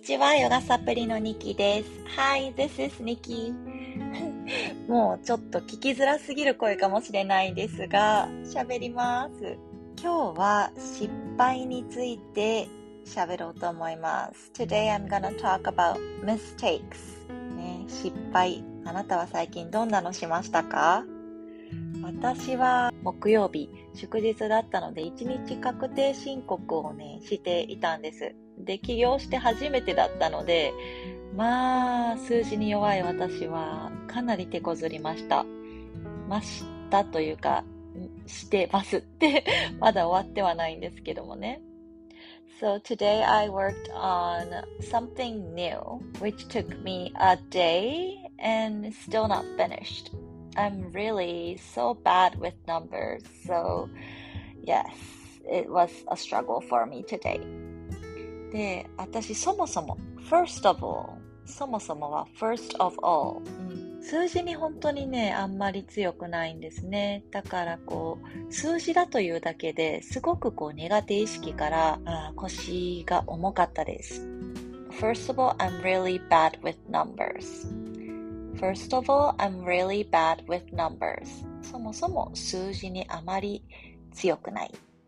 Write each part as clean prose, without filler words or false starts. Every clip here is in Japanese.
ちは、ヨガサプリのニキです。Hi, this is Nikki. もうちょっと聞きづらすぎる声かもしれないですが、喋ります。今日は失敗について喋ろうと思います。Today I'm gonna talk about mistakes. 失敗。あなたは最近どんなのしましたか？私は木曜日、祝日だったので1日確定申告をしていたんです。で、起業して初めてだったので、数字に弱い私はかなり手こずりました。というか、してますってまだ終わってはないんですけどもね。So today I worked on something new, which took me a day and still not finished.I'm really so bad with numbers, so yes, it was a struggle for me today. で、私そもそも first of all は first of all、数字に本当にあんまり強くないんですね。だから数字だというだけですごく苦手意識から腰が重かったです。First of all, I'm really bad with numbers.First of all, I'm really bad with numbers. そもそも数字にあまり強くない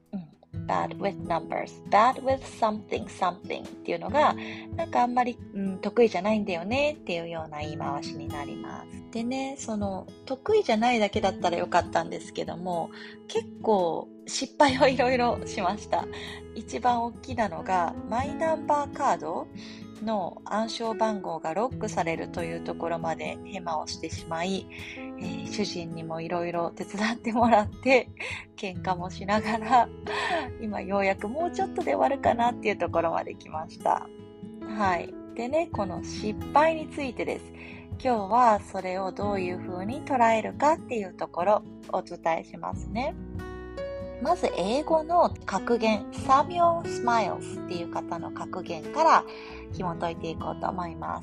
。bad with numbers. bad with something っていうのがあんまり、得意じゃないんだよねっていうような言い回しになります。でね、その得意じゃないだけだったらよかったんですけども、結構失敗をいろいろしました。一番大きなのがマイナンバーカードの暗証番号がロックされるというところまでヘマをしてしまい、主人にもいろいろ手伝ってもらって喧嘩もしながら今ようやくもうちょっとで終わるかなっていうところまで来ました。はい。でね、この失敗についてです。今日はそれをどういうふうに捉えるかっていうところをお伝えしますね。まず英語の格言、Samuel Smiles っていう方の格言から紐解いていこうと思います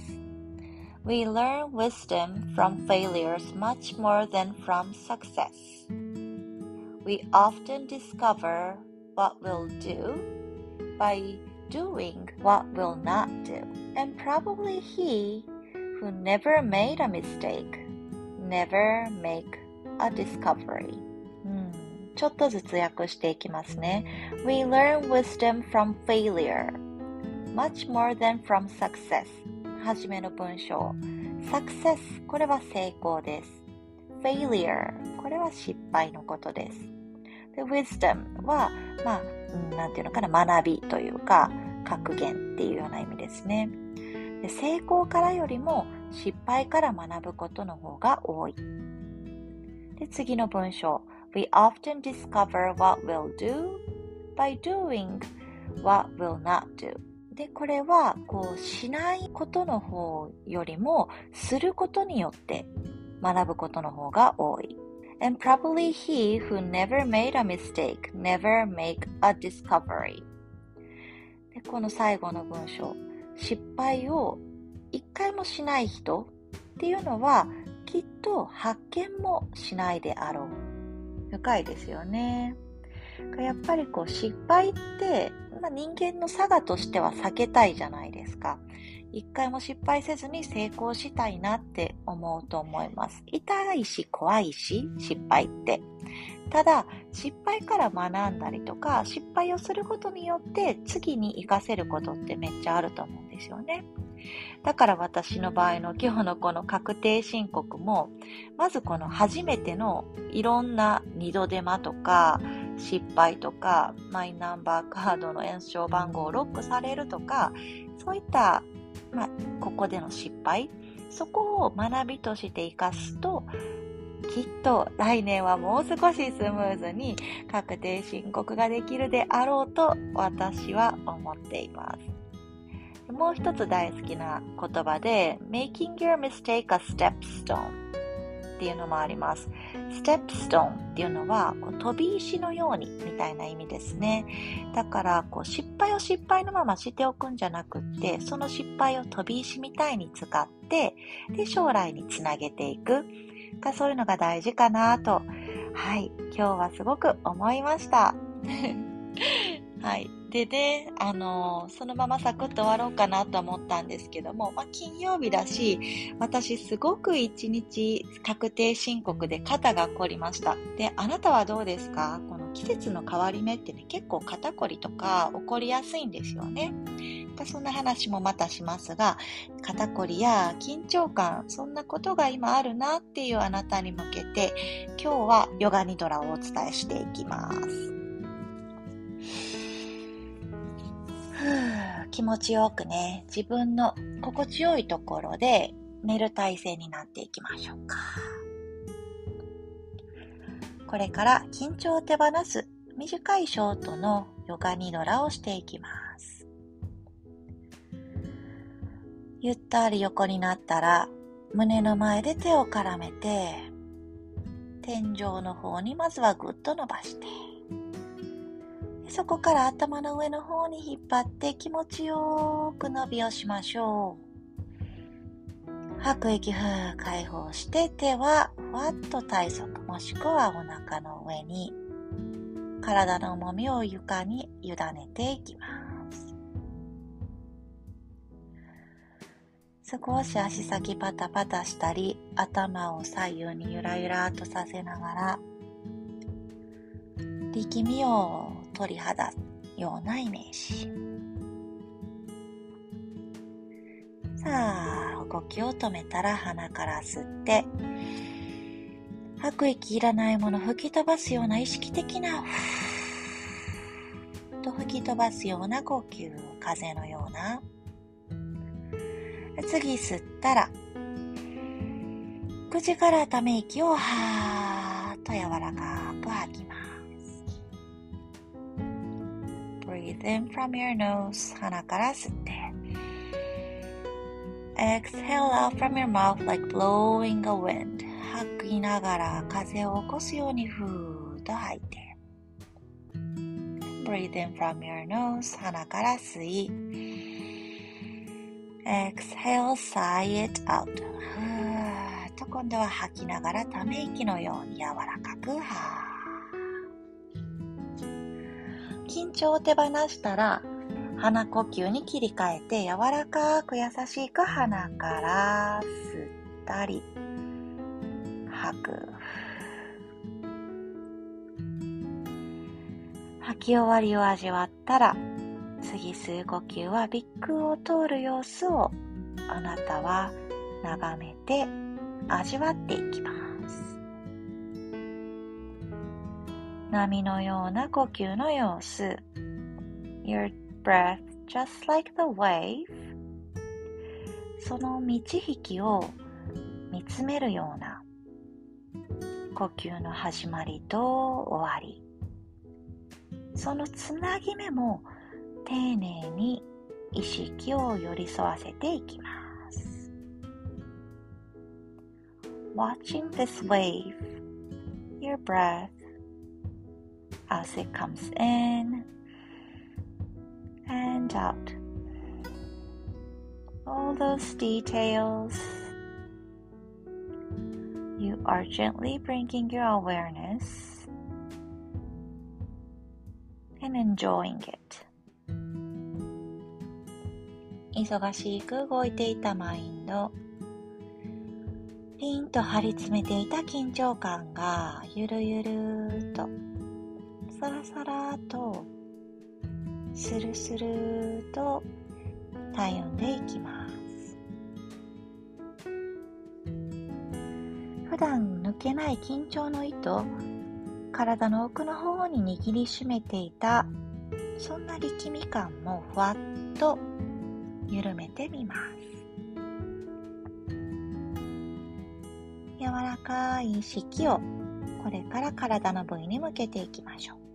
。We learn wisdom from failures much more than from success. We often discover what we'll do by doing what we'll not do. And probably he who never made a mistake never make a discovery.ちょっとずつ訳していきますね。We learn wisdom from failure much more than from success. はじめの文章。Success これは成功です。Failure これは失敗のことです。で、Wisdom はなんていうのかな、学びというか格言っていうような意味ですね。で、成功からよりも失敗から学ぶことの方が多い。で、次の文章。We often discover what we'll do by doing what we'll not do. で、これはしないことの方よりもすることによって学ぶことの方が多い。And probably he who never made a mistake never make a discovery. で、この最後の文章。失敗を一回もしない人っていうのはきっと発見もしないであろう。深いですよね。やっぱり失敗って、人間の差がとしては避けたいじゃないですか。一回も失敗せずに成功したいなって思うと思います。痛いし怖いし失敗って。ただ失敗から学んだりとか失敗をすることによって次に活かせることってめっちゃあると思うんですよね。だから私の場合の今日のこの確定申告も、まずこの初めてのいろんな二度手間とか失敗とかマイナンバーカードの暗証番号をロックされるとか、そういったここでの失敗、そこを学びとして活かすと、きっと来年はもう少しスムーズに確定申告ができるであろうと私は思っています。もう一つ大好きな言葉で Making your mistake a stepstone っていうのもあります。Stepstone っていうのは飛び石のようにみたいな意味ですね。だから失敗を失敗のまましておくんじゃなくって、その失敗を飛び石みたいに使ってで将来につなげていく、そういうのが大事かなと、はい、今日はすごく思いましたはい。でね、そのままサクッと終わろうかなと思ったんですけども、金曜日だし、私すごく一日確定申告で肩が凝りました。で、あなたはどうですか？この季節の変わり目ってね、結構肩こりとか起こりやすいんですよね。そんな話もまたしますが、肩こりや緊張感、そんなことが今あるなっていうあなたに向けて、今日はヨガニドラをお伝えしていきます。気持ちよくね、自分の心地よいところで寝る体勢になっていきましょうか。これから緊張を手放す短いショートのヨガニドラをしていきます。ゆったり横になったら胸の前で手を絡めて、天井の方にまずはぐっと伸ばして、そこから頭の上の方に引っ張って気持ちよく伸びをしましょう。吐く息解放して、手はふわっと体側もしくはお腹の上に、体の重みを床に委ねていきます。少し足先パタパタしたり、頭を左右にゆらゆらとさせながら、力みを取り払うようなイメージ。さあ、動きを止めたら鼻から吸って、吐く息いらないもの吹き飛ばすような意識的なと吹き飛ばすような呼吸、風のような。次吸ったら、口からため息をはーっと柔らかく吐きます。Breathe in from your nose. 鼻から吸って。Exhale out from your mouth like blowing a wind. 吐きながら風を起こすようにふーっと吐いて。Breathe in from your nose. 鼻から吸い。Exhale, sigh it out. ふーっと今度は吐きながらため息のように柔らかく緊張を手放したら鼻呼吸に切り替えて柔らかく優しく鼻から吸ったり吐く。吐き終わりを味わったら次吸う呼吸は鼻腔を通る様子をあなたは眺めて味わっていきます。波のような呼吸の様子。Your breath just like the wave. その満ち引きを見つめるような呼吸の始まりと終わり。そのつなぎ目も丁寧に意識を寄り添わせていきます。Watching this wave, your breath as it comes in and out. All those details, you are gently bringing your awareness and enjoying it. 忙しく動いていたマインド、ピンと張り詰めていた緊張感がゆるゆるとさらさらとスルスルとたゆんでいきます。普段抜けない緊張の糸、体の奥の方に握りしめていたそんな力み感もふわっと緩めてみます。柔らかい意識をこれから体の部位に向けていきましょう。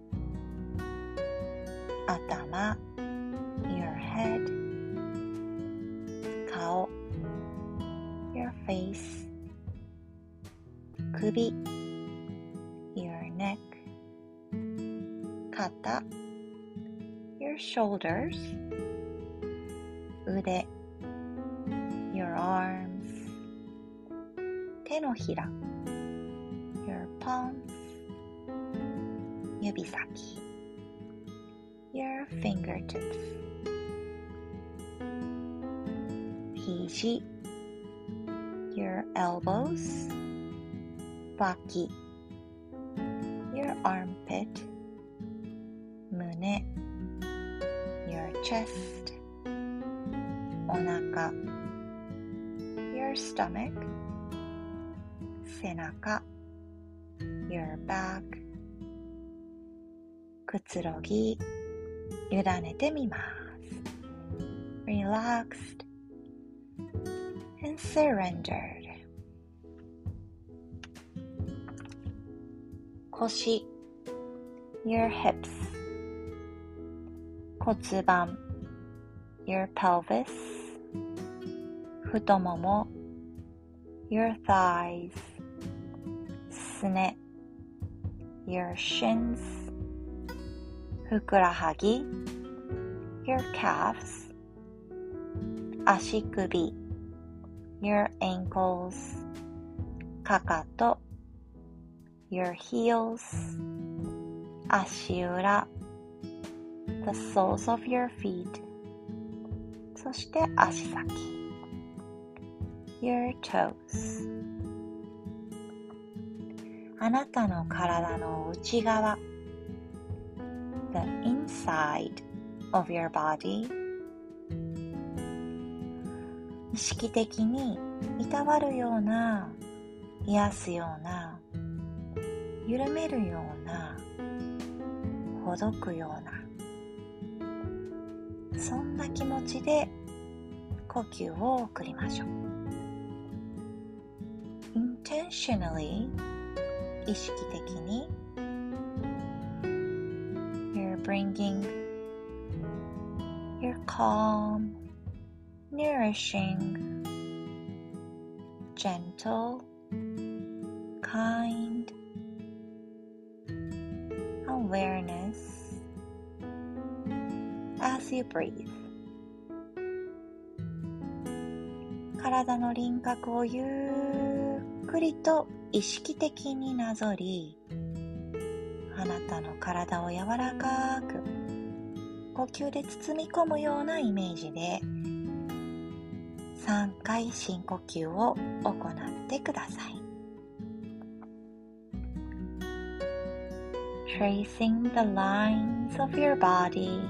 頭、your head、顔、your face、首、your neck、肩、your shoulders、腕、your arms、手のひら、your palms、指先、 your fingertips. 肘 your elbows. 脇 your armpit. 胸 your chest. お腹 your stomach. 背中 your back. くつろぎ委ねてみます。Relaxed and surrendered. 腰 your hips. 骨盤 your pelvis. 太もも your thighs. すね your shins. ふくらはぎ your calves. 足首 your ankles. かかと your heels. 足裏 the soles of your feet. そして足先 your toes. あなたの体の内側 the inside of your body. 意識的にいたわるような、癒すような、緩めるような、ほどくような、そんな気持ちで呼吸を送りましょう。intentionally 意識的に you're bringing your calm, nourishing, gentle, kind awareness as you breathe. 体の輪郭をゆっくりと意識的になぞり、あなたの体を柔らかく呼吸で包み込むようなイメージで3回深呼吸を行ってください。Tracing the lines of your body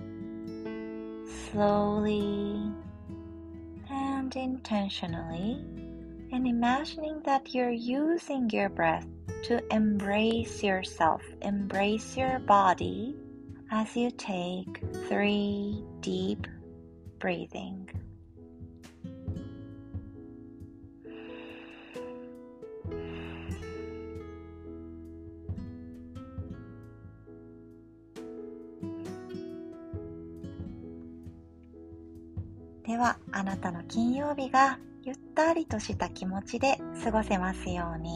slowly and intentionally, and imagining that you're using your breath to embrace yourself, embrace your body as you take 3 deep breathing.「ではあなたの金曜日がゆったりとした気持ちで過ごせますように。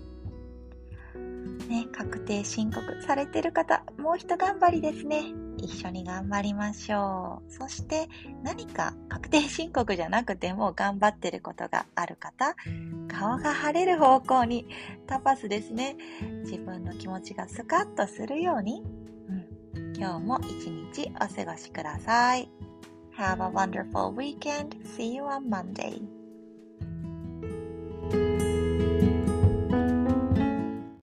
ね、確定申告されてる方、もう一頑張りですね。一緒に頑張りましょう。そして何か確定申告じゃなくても頑張ってることがある方、顔が晴れる方向にタパスですね。自分の気持ちがスカッとするように、今日も一日お過ごしください。Have a wonderful weekend. See you on Monday.